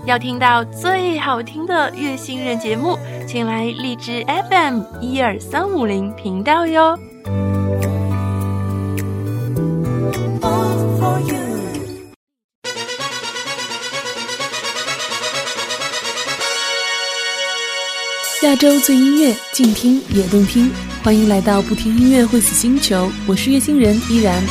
要听到最好听的月星人节目，请来荔枝 FM 12350频道哟。 亚洲最音乐，静听也动听，欢迎来到不听音乐会死星球，我是月星人依然。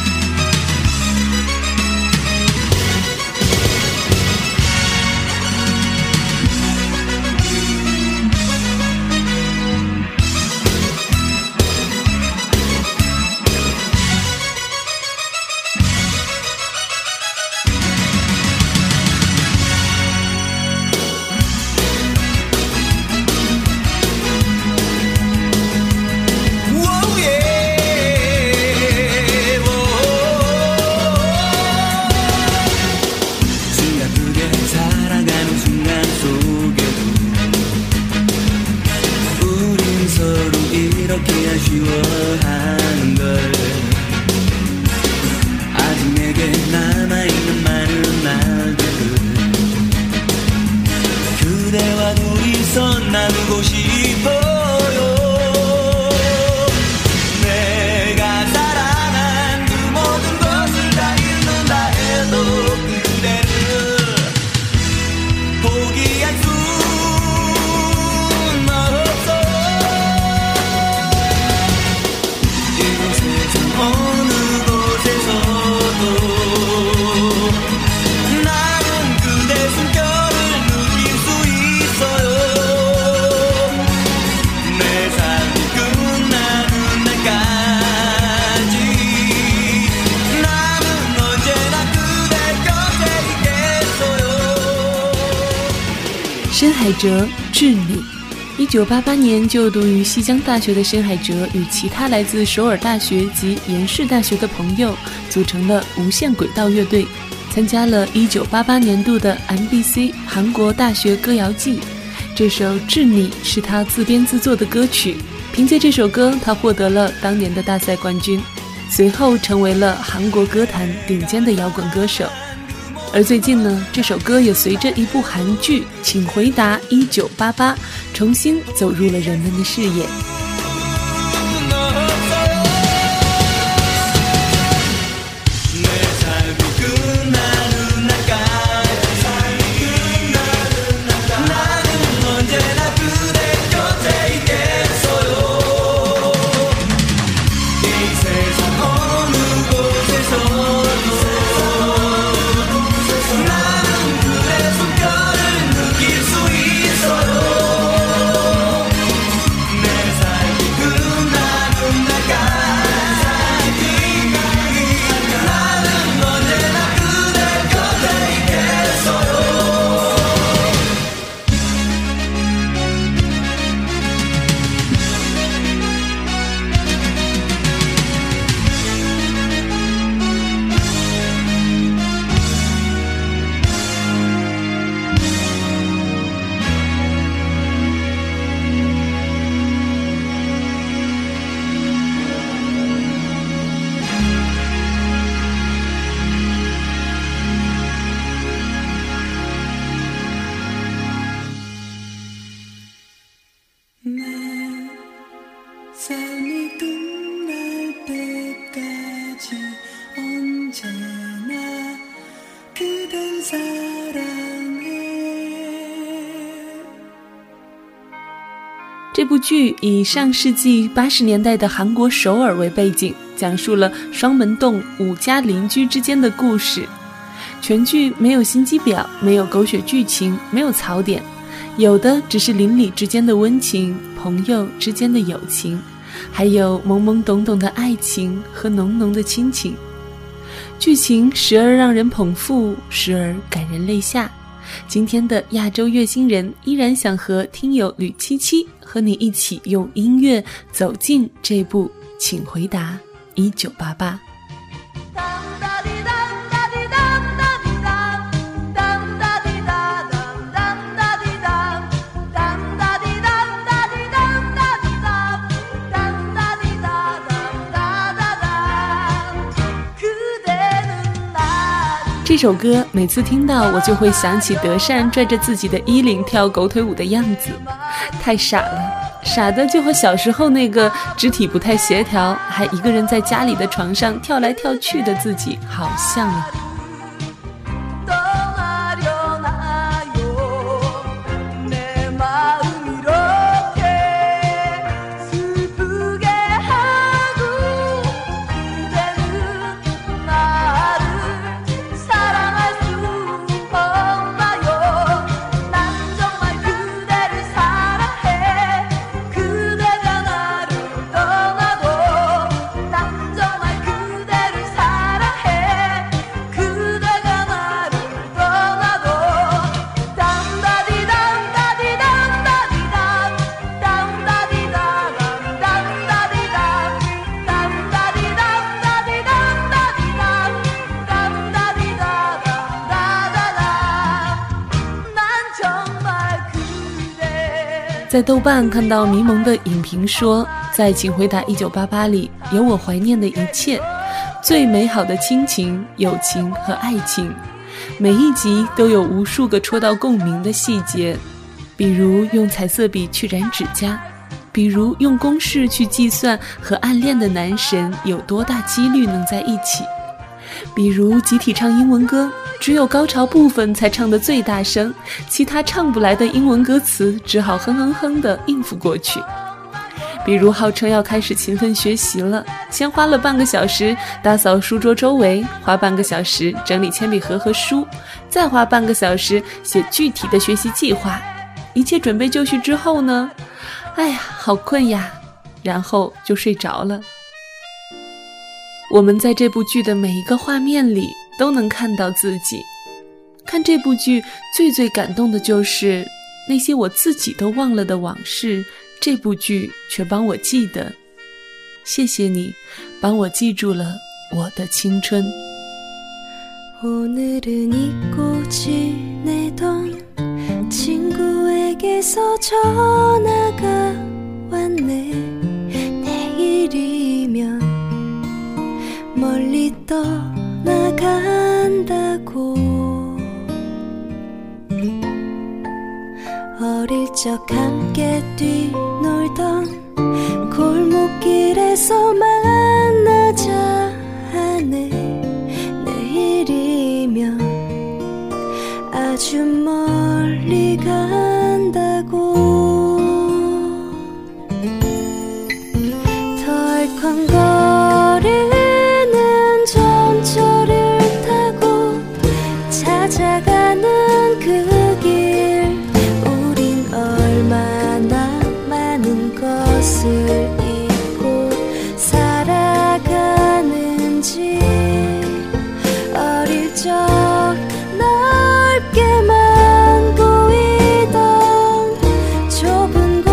申海哲致你。1988年就读于西江大学的申海哲与其他来自首尔大学及延世大学的朋友组成了无限轨道乐队，参加了1988年度的 MBC 韩国大学歌谣季。这首《致你》是他自编自作的歌曲，凭借这首歌他获得了当年的大赛冠军，随后成为了韩国歌坛顶尖的摇滚歌手。而最近呢，这首歌也随着一部韩剧《请回答1988》重新走入了人们的视野。这部剧以上世纪80年代的韩国首尔为背景，讲述了双门洞5家邻居之间的故事。全剧没有心机婊，没有狗血剧情，没有槽点，有的只是邻里之间的温情，朋友之间的友情，还有懵懵懂懂的爱情和浓浓的亲情。剧情时而让人捧腹，时而感人泪下。今天的亚洲月星人依然想和听友吕七七和你一起用音乐走进这部请回答1988。 这首歌每次听到，我就会想起德善拽着自己的衣领跳狗腿舞的样子，太傻了，傻的就和小时候那个肢体不太协调，还一个人在家里的床上跳来跳去的自己好像啊。在豆瓣看到迷蒙的影评说，在《请回答1988》里有我怀念的一切，最美好的亲情、友情和爱情，每一集都有无数个戳到共鸣的细节，比如用彩色笔去染指甲，比如用公式去计算和暗恋的男神有多大几率能在一起，比如集体唱英文歌，只有高潮部分才唱得最大声，其他唱不来的英文歌词只好哼哼哼地应付过去。比如号称要开始勤奋学习了，先花了半个小时打扫书桌周围，花半个小时整理铅笔盒和书，再花半个小时写具体的学习计划。一切准备就绪之后呢，哎呀，好困呀，然后就睡着了。我们在这部剧的每一个画面里都能看到自己。看这部剧最感动的就是那些我自己都忘了的往事，这部剧却帮我记得。谢谢你帮我记住了我的青春。 오늘은 잊고 지내던 친구에게서 전화가 왔네. 내일이면 멀리 떠나간다고. 어릴 적 함께 뛰놀던 골목길에서 만나자 하네. 내일이면 아주 멀리 간다고. 덜컹거리는 전철을 타고 찾아가는 그 길, 우린 얼마나 많은 것을 잊고 살아가는지. 어릴 적 넓게만 보이던 좁은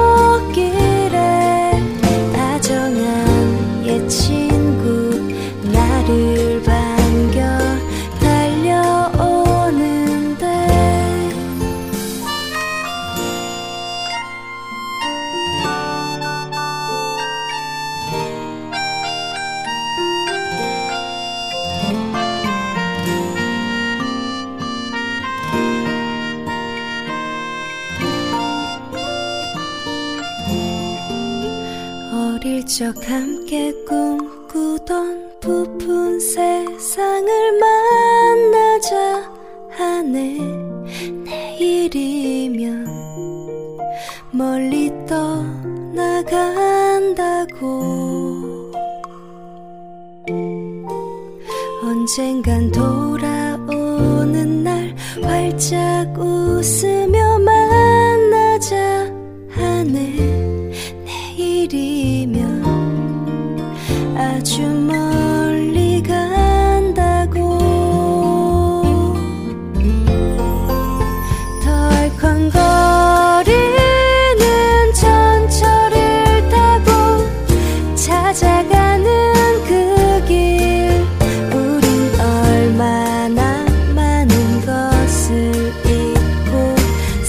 골목길에 다정한 옛 친구 나를 반겨 달려오는데. 어릴 적 함께 꿈꾸던 부푼 세상을 만나자 하네. 내일이면 멀리 떠나간다고. 언젠간 돌아오는 날 활짝 웃으며 만나자 하네. 내일이면 아주 멀리 간다고. 덜컹거리는 전철을 타고 찾아가는 그 길, 우린 얼마나 많은 것을 잊고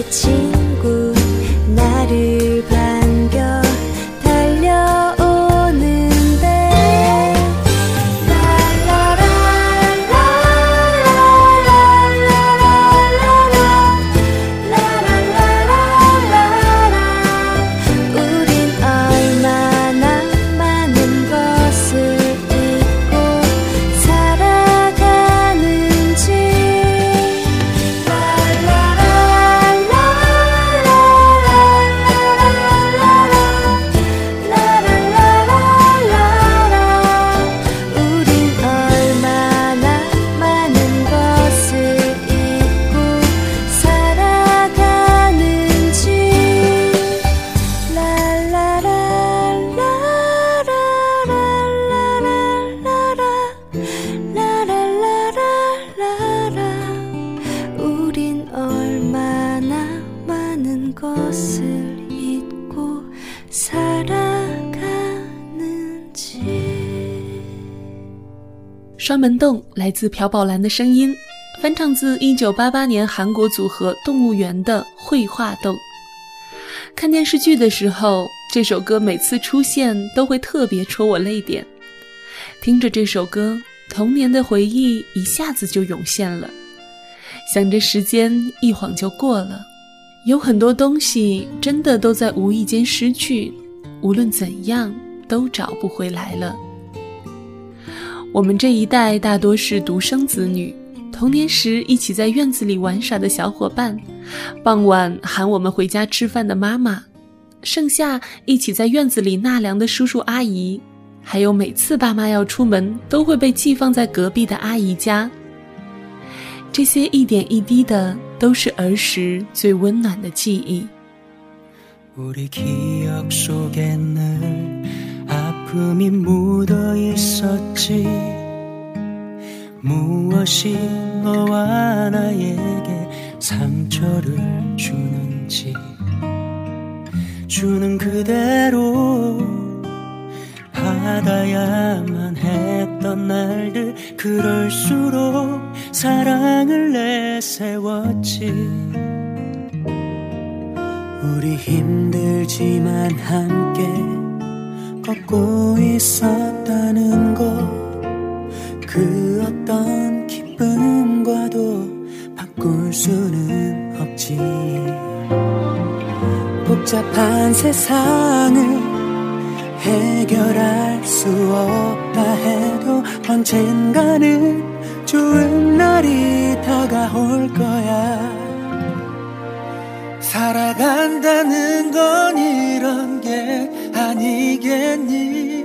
친구 나를 반겨 달려오는데 우린 얼마나 많은 것을 잊고 살아가는지 우린 얼마나 많은 것을 잊고 살아가는지 우린 얼마나 많은 것을 잊고 살아가는지 双门洞来自朴宝蓝的声音，翻唱自1988年韩国组合动物园的绘画洞。看电视剧的时候，这首歌每次出现都会特别戳我泪点。听着这首歌，童年的回忆一下子就涌现了。想着时间一晃就过了，有很多东西真的都在无意间失去，无论怎样都找不回来了。我们这一代大多是独生子女，童年时一起在院子里玩耍的小伙伴，傍晚喊我们回家吃饭的妈妈，盛夏一起在院子里纳凉的叔叔阿姨，还有每次爸妈要出门都会被寄放在隔壁的阿姨家。这些一点一滴的都是儿时最温暖的记忆。 우리 기억 속에 늘 아픔이 묻어 있었지. 무엇이 너와 나에게 상처를 주는지 주는 그대로 받아야만 했던 날들 그럴수록 사랑을 내세웠지. 우리 힘들지만 함께 걷고 있었다는 것 그 어떤 기쁨과도 바꿀 수는 없지. 복잡한 세상을 해결할 수 없다 해도 언젠가는 좋은 날이 다가올 거야. 살아간다는 건 이런 게 아니겠니.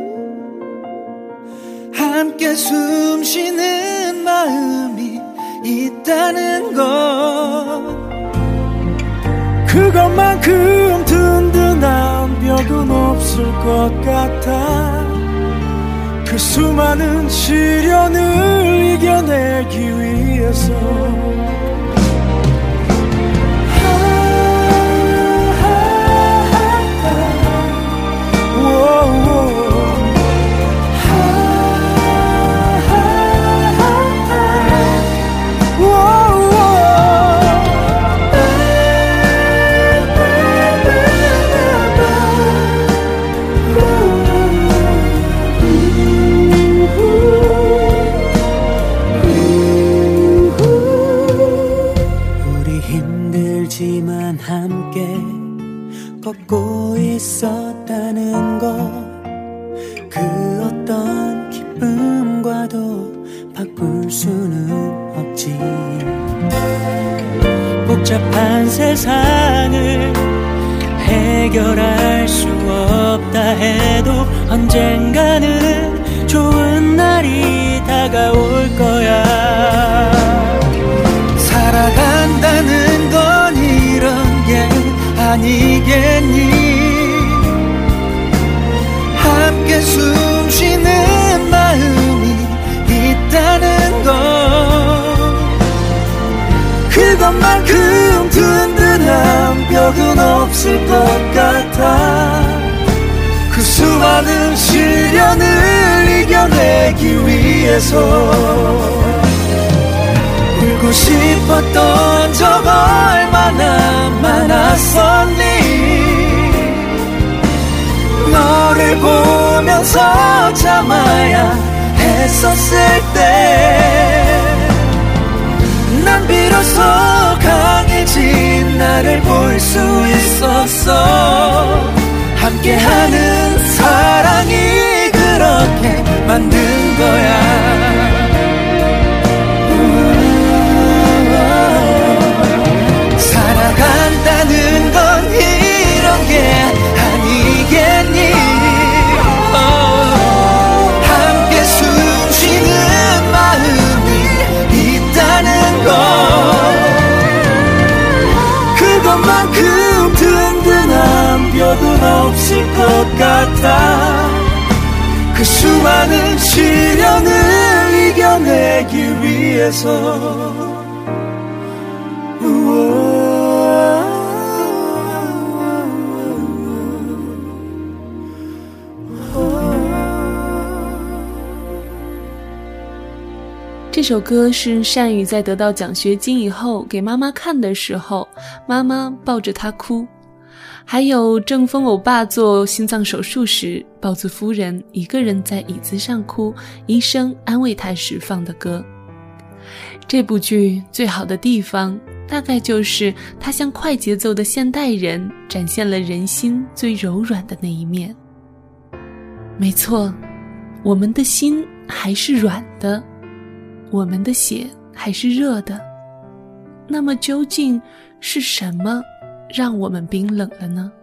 함께 숨 쉬는 마음이 있다는 것 그것만큼 든든한 벽은 없을 것 같아. 그 수많은 시련을 이겨내기 위해서 힘들지만 함께 걷고 있었다는 것 그 어떤 기쁨과도 바꿀 수는 없지. 복잡한 세상을 해결할 수 없다 해도 언젠가는 좋은 날이 다가올 거야. 살아간다는 건 이런 게 아니겠니. 함께 숨 쉬는 마음이 있다는 것 그것만큼 든든한 벽은 없을 것 같아. 그 수많은 시련을 이겨내기 위해서 울고 싶었던 적 얼마나 나섰니 너를 보면서 참아야 했었을 때 난 비로소 강해진 나를 볼 수 있었어 함께하는 사랑이 그렇게 만든 거야 살아간다는 건 이런 게 아니겠니 함께 숨쉬는 마음이 있다는 것 그것만큼 든든한 뼈도 없을 것 같아 그 수많은 시련을 이겨내기 위해서 这首歌是善宇在得到奖学金以后给妈妈看的时候，妈妈抱着他哭。还有郑峰欧巴做心脏手术时，豹子夫人一个人在椅子上哭，医生安慰她时放的歌。这部剧最好的地方大概就是它向快节奏的现代人展现了人心最柔软的那一面。没错，我们的心还是软的，我们的血还是热的，那么究竟是什么让我们冰冷了呢？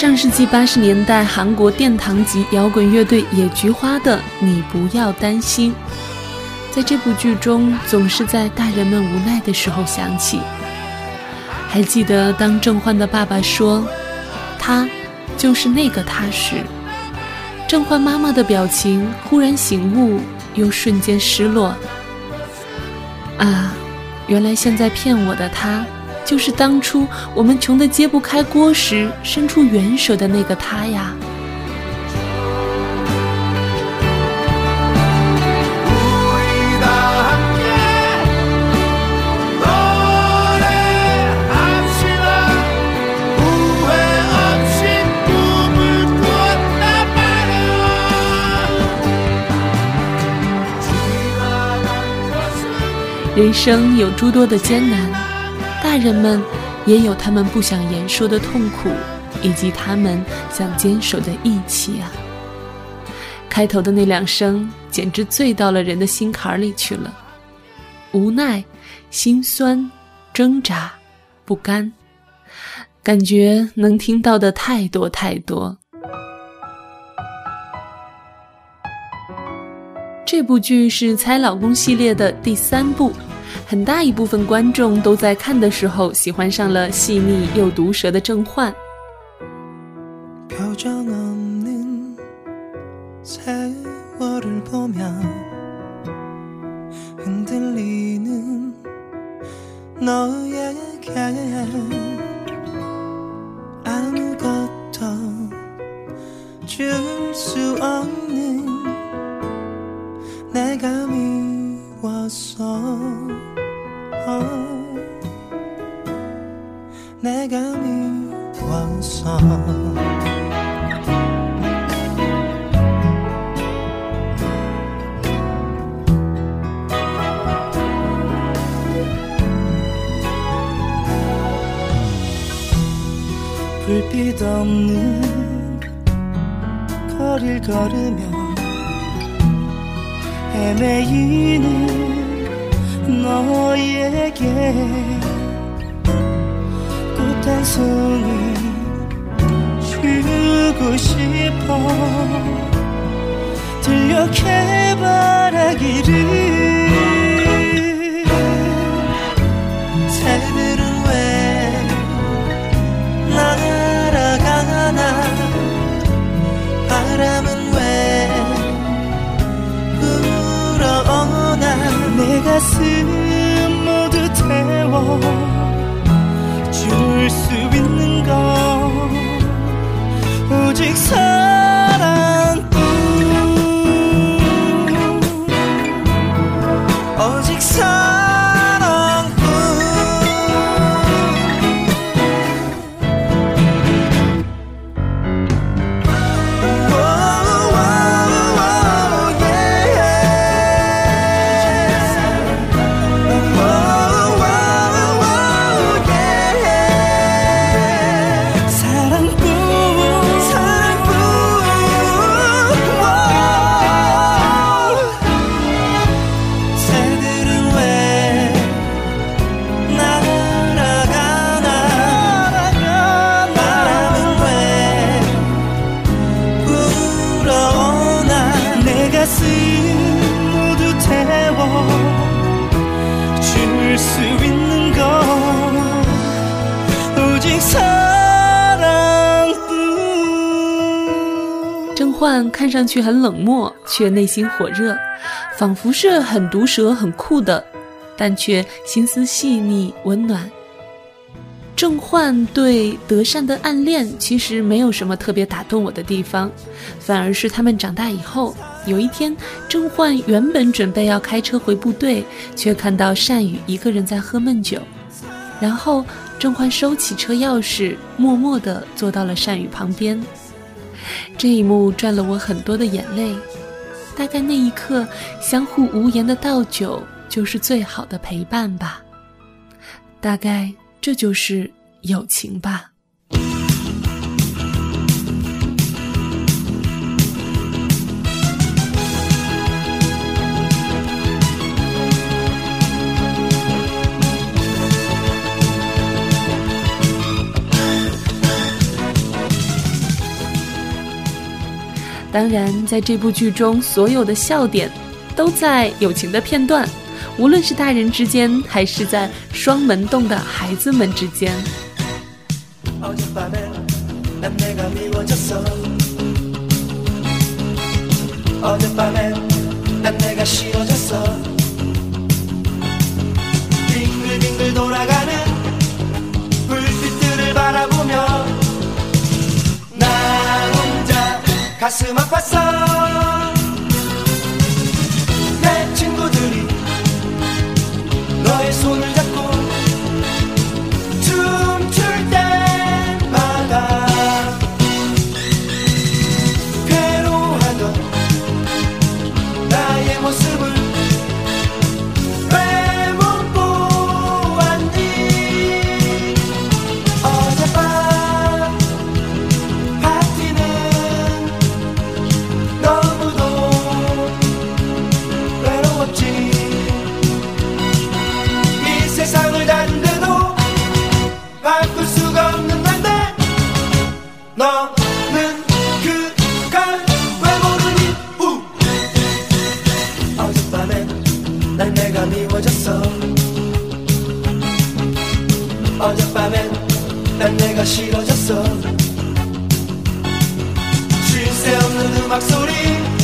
上世纪80年代韩国殿堂级摇滚乐队野菊花的《你不要担心》，在这部剧中总是在大人们无奈的时候响起。还记得当郑焕的爸爸说他就是那个他时，郑焕妈妈的表情忽然醒悟，又瞬间失落。啊，原来现在骗我的他，就是当初我们穷得揭不开锅时伸出援手的那个他呀。人生有诸多的艰难，大人们也有他们不想言说的痛苦，以及他们想坚守的义气啊。开头的那2声简直醉到了人的心坎里去了，无奈、心酸、挣扎、不甘，感觉能听到的太多太多。这部剧是猜老公系列的第3部，很大一部分观众都在看的时候喜欢上了细腻又毒舌的郑焕。 표정없는 세월을 보며 흔들리는 너에게 아무것도 줄 수 없는 내가 미웠어 내가 미웠어 불빛 없는 거리를 걸으며 헤매이는 너에게 꽃 한 송이 주고 싶어 들려게 바라기를 새들은 왜 날아가나 바람은 왜 불어오나 내 가슴 모두 태워 줄 수 있는 건 오직 사랑뿐 오직 사랑뿐 郑焕看上去很冷漠，却内心火热，仿佛是很毒舌很酷的，但却心思细腻温暖。郑焕对德善的暗恋其实没有什么特别打动我的地方，反而是他们长大以后，有一天郑焕原本准备要开车回部队，却看到善宇一个人在喝闷酒，然后郑焕收起车钥匙，默默地坐到了善宇旁边。这一幕赚了我很多的眼泪，大概那一刻相互无言的倒酒就是最好的陪伴吧，大概这就是友情吧。 当然，在这部剧中，所有的笑点都在友情的片段，无论是大人之间，还是在双门洞的孩子们之间。 가슴 아팠어 내 친구들이 너의 손을 잡고 춤출 때마다 괴로워하던 나의 모습을 왜 못 보았니 어젯밤 파티는 이 세상을 다는데도 바꿀 수가 없는 건데 너는 그걸 왜 모르니 어젯밤엔 난 내가 미워졌어 어젯밤엔 난 내가 싫어졌어 쉴 새 없는 음악 소리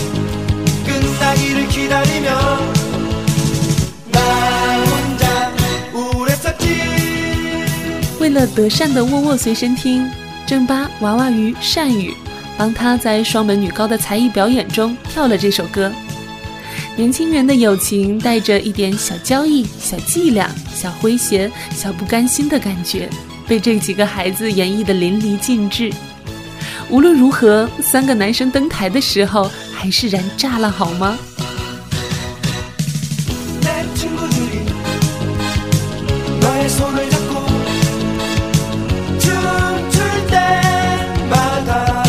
끝나기를 기다리며 나 혼자 우울했었지 为了德善的沃沃随身听，正巴、娃娃鱼、善宇帮他在双门女高的才艺表演中跳了这首歌。年轻人的友情带着一点小交易、小伎俩、小诙谐、小不甘心的感觉，被这几个孩子演绎得淋漓尽致。无论如何，3个男生登台的时候还是燃炸了，好吗？ 손을 잡고 춤출 때마다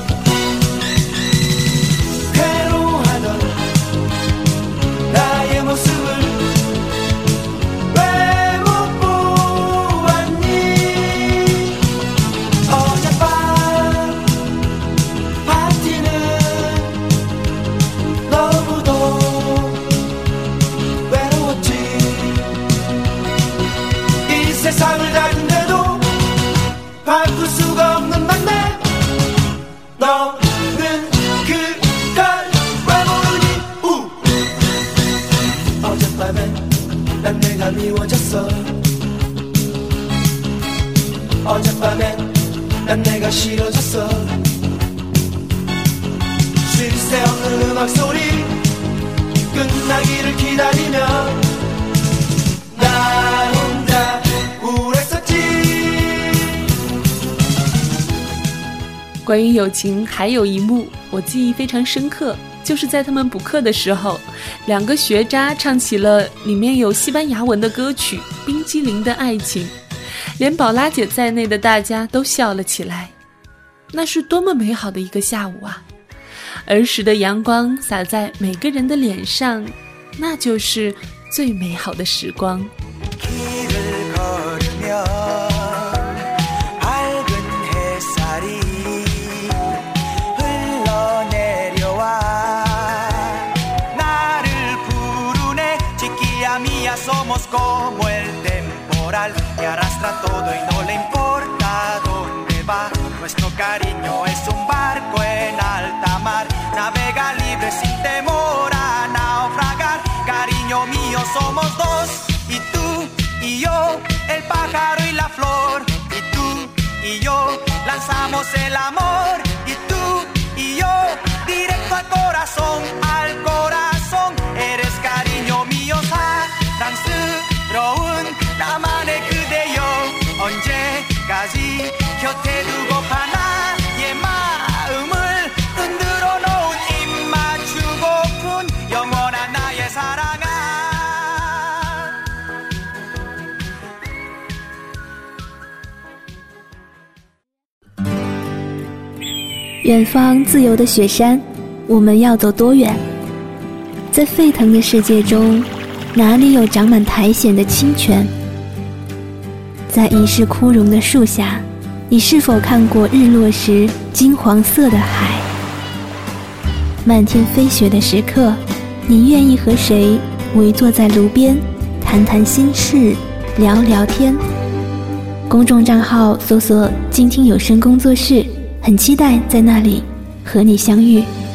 괴로워하던 나의 모습을 왜 못 보았니 어젯밤 파티는 너무도 외로웠지 세상을 다른데도 바꿀 수가 없는 만남 너는 그걸 왜 모르니 어젯밤엔 난 내가 미워졌어 어젯밤엔 난 내가 싫어졌어 쉴 새 없는 음악 소리 끝나기를 기다리며 나 혼자 关于友情还有一幕我记忆非常深刻，就是在他们补课的时候，2个学渣唱起了里面有西班牙文的歌曲《冰激凌的爱情》，连宝拉姐在内的大家都笑了起来。那是多么美好的一个下午啊！儿时的阳光洒在每个人的脸上，那就是最美好的时光。 Somos como el temporal que arrastra todo y no le importa dónde va. Nuestro cariño es un barco en alta mar, navega libre sin temor a naufragar. Cariño mío, somos dos, y tú y yo, el pájaro y la flor. Y tú y yo, lanzamos el amor. Y tú y yo, directo al corazón, al corazón. Eres cariño mío, 사랑스러운 나만의 그대여 언제까지 곁에 두고파 나의 마음을 흔들어 놓은 입 맞추고픈 영원한 나의 사랑아 远方自由的雪山，我们要走多远？在沸腾的世界中，哪里有长满苔藓的清泉？在一世枯荣的树下，你是否看过日落时金黄色的海？ 漫天飞雪的时刻，你愿意和谁围坐在炉边，谈谈心事，聊聊天？公众账号搜索静听有声工作室，很期待在那里和你相遇。